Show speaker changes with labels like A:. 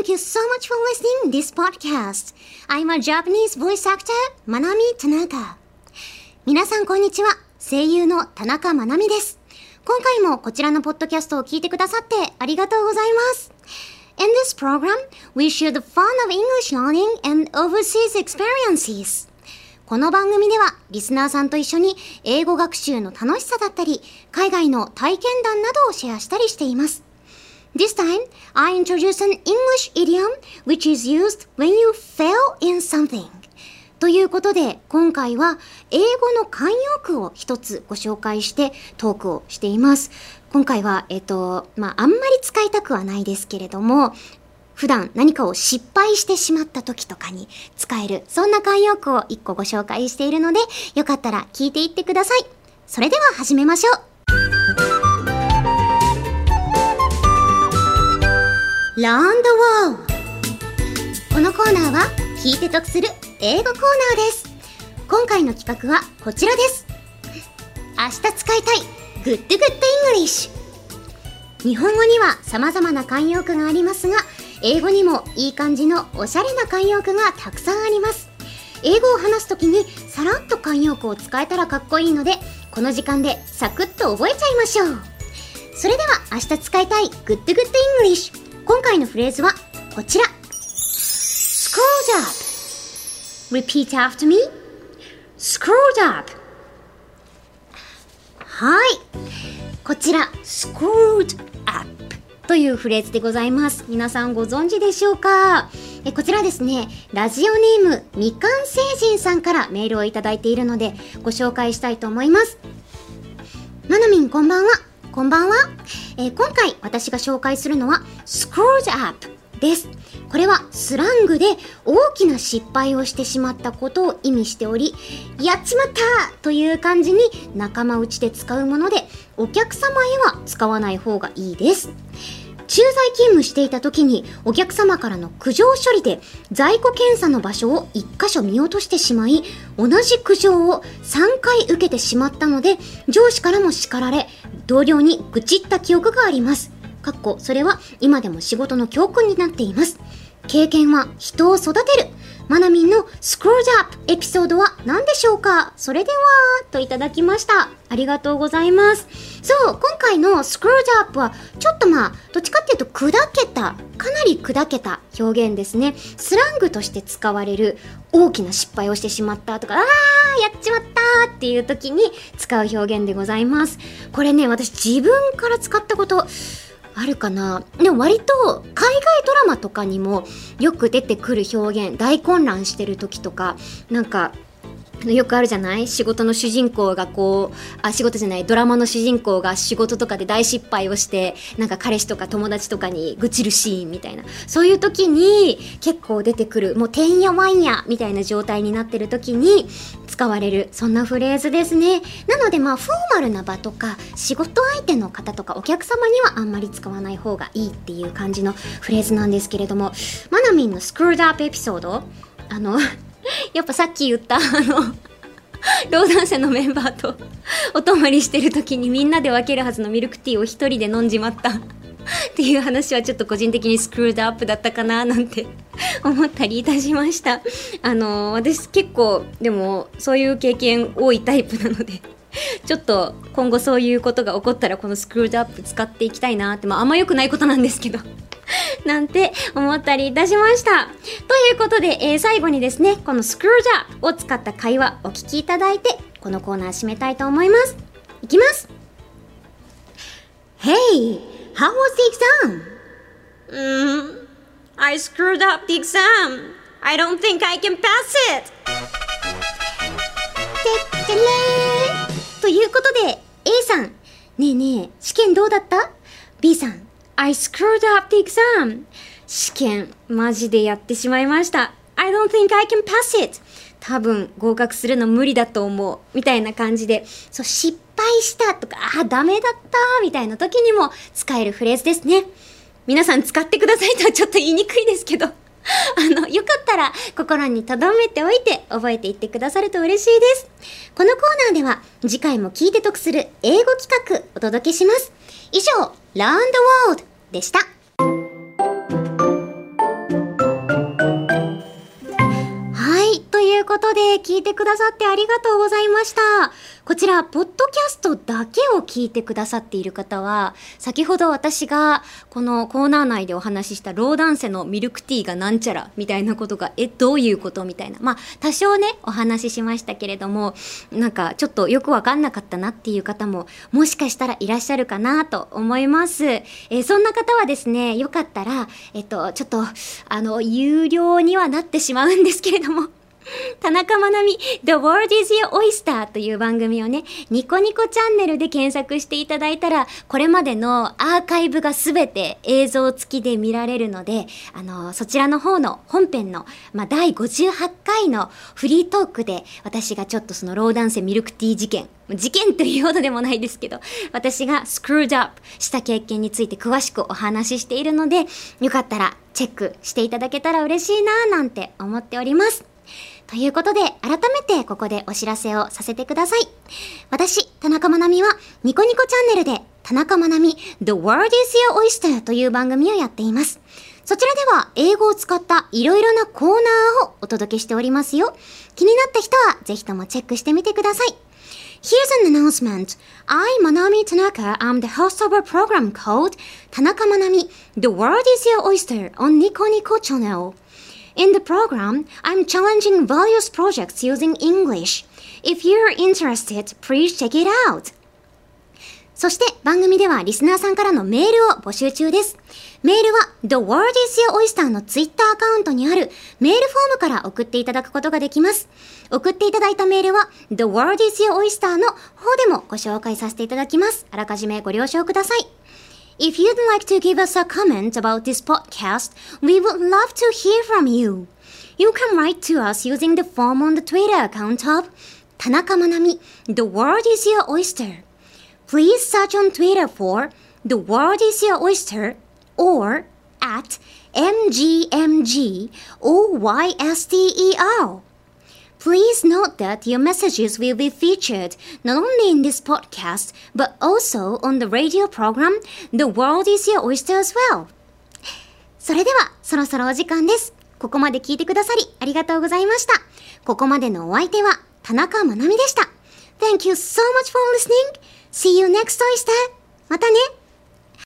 A: Thank you so much for listening this podcast. I'm a Japanese voice actor, Manami Tanaka. 皆さんこんにちは。声優の田中まなみです。今回もこちらのポッドキャストを聞いてくださってありがとうございます。In this program, we share the fun of English learning and overseas experiences. この番組ではリスナーさんと一緒に英語学習の楽しさだったり、海外の体験談などをシェアしたりしています。This time, I introduce an English idiom which is used when you fail in something. ということで、今回は英語の慣用句を一つご紹介してトークをしています。今回は、あんまり使いたくはないですけれども、普段何かを失敗してしまった時とかに使える、そんな慣用句を一個ご紹介しているので、よかったら聞いていってください。それでは始めましょう。Learn the World。 このコーナーは聞いて得する英語コーナーです。今回の企画はこちらです。明日使いたい Good Good English。 日本語には様々な慣用句がありますが、英語にもいい感じのおしゃれな慣用句がたくさんあります。英語を話すときにさらっと慣用句を使えたらかっこいいので、この時間でサクッと覚えちゃいましょう。それでは明日使いたい Good Good English。今回のフレーズはこちら。 Screwed up。 Repeat after me。 Screwed up。 はい、こちら Screwed up というフレーズでございます。皆さんご存知でしょうか？こちらですね、ラジオネームみかん星人さんからメールをいただいているのでご紹介したいと思います。まなみんこんばんは。こんばんは。今回私が紹介するのは Screwed up です。これはスラングで大きな失敗をしてしまったことを意味しており、やっちまったという感じに仲間内で使うもので、お客様へは使わない方がいいです。駐在勤務していた時にお客様からの苦情処理で在庫検査の場所を1箇所見落としてしまい、同じ苦情を3回受けてしまったので、上司からも叱られ、同僚に愚痴った記憶があります。それは今でも仕事の教訓になっています。経験は人を育てる。まなみんの Screwed up エピソードは何でしょうか？それではといただきました。ありがとうございます。そう、今回の Screwed up はちょっとどっちかっていうとかなり砕けた表現ですね。スラングとして使われる大きな失敗をしてしまったとか、やっちまったっていう時に使う表現でございます。これね、私自分から使ったことあるかな。でも割と海外ドラマとかにもよく出てくる表現、大混乱してる時とか、なんかよくあるじゃない？仕事の主人公がドラマの主人公が仕事とかで大失敗をして、なんか彼氏とか友達とかに愚痴るシーンみたいな、そういう時に結構出てくる、もうてんやわんやみたいな状態になってる時に使われる、そんなフレーズですね。なのでフォーマルな場とか仕事相手の方とかお客様にはあんまり使わない方がいいっていう感じのフレーズなんですけれども、まなみんのスクールドアップエピソード、やっぱさっき言った労働者のメンバーとお泊まりしてる時にみんなで分けるはずのミルクティーを一人で飲んじまったっていう話はちょっと個人的にスクールドアップだったかななんて思ったりいたしました。私結構でもそういう経験多いタイプなので、ちょっと今後そういうことが起こったらこのスクールドアップ使っていきたいなって、あんま良くないことなんですけどなんて思ったりいたしました。ということで、最後にですね、このスクールドアップを使った会話お聞きいただいて、このコーナー締めたいと思います。いきます。 Hey, how was the exam?
B: I screwed up the exam. I don't think I can pass it.
A: てってれーということで A さん、ねえねえ試験どうだった？ B さん、I screwed up the exam. 試験マジでやってしまいました。I don't think I can pass it. 多分合格するの無理だと思うみたいな感じで、そう失敗したとかダメだったみたいな時にも使えるフレーズですね。皆さん使ってくださいとはちょっと言いにくいですけどよかったら心に留めておいて覚えていってくださると嬉しいです。このコーナーでは次回も聞いて得する英語企画お届けします。以上 Learn the World でした。 トで聞いてくださってありがとうございました。こちら、ポッドキャストだけを聞いてくださっている方は、先ほど私がこのコーナー内でお話ししたローダンセのミルクティーがなんちゃらみたいなことが、どういうことみたいな。まあ、多少ね、お話ししましたけれども、なんかちょっとよくわかんなかったなっていう方も、もしかしたらいらっしゃるかなと思います。そんな方はですね、よかったら、ちょっと、有料にはなってしまうんですけれども、田中まなみ The World is Your Oyster という番組をね、ニコニコチャンネルで検索していただいたら、これまでのアーカイブがすべて映像付きで見られるので、そちらの方の本編の、第58回のフリートークで、私がちょっとそのローダンセミルクティー事件というほどでもないですけど、私がスクルードアップした経験について詳しくお話ししているので、よかったらチェックしていただけたら嬉しいななんて思っております。ということで、改めてここでお知らせをさせてください。私、田中まなみは、ニコニコチャンネルで、田中まなみ The World is Your Oyster という番組をやっています。そちらでは、英語を使ったいろいろなコーナーをお届けしておりますよ。気になった人は、ぜひともチェックしてみてください。Here's an announcement. I, Manami Tanaka, am the host of a program called Tanaka Manami The World is Your Oyster on Nico Nico Channel.In the program, I'm challenging various projects using English. If you're interested, please check it out. そして番組ではリスナーさんからのメールを募集中です。メールは The World is Your Oyster のツイッターアカウントにあるメールフォームから送っていただくことができます。送っていただいたメールは The World is Your Oyster の方でもご紹介させていただきます。あらかじめご了承ください。If you'd like to give us a comment about this podcast, we would love to hear from you. You can write to us using the form on the Twitter account of Tanaka Manami, The World is Your Oyster. Please search on Twitter for The World is Your Oyster or at MGMGOYSTER.Please note that your messages will be featured not only in this podcast, but also on the radio program, The World is Your Oyster as well. それでは、そろそろお時間です。ここまで聞いてくださり、ありがとうございました。ここまでのお相手は、田中まなみでした。Thank you so much for listening. See you next Oyster. またね。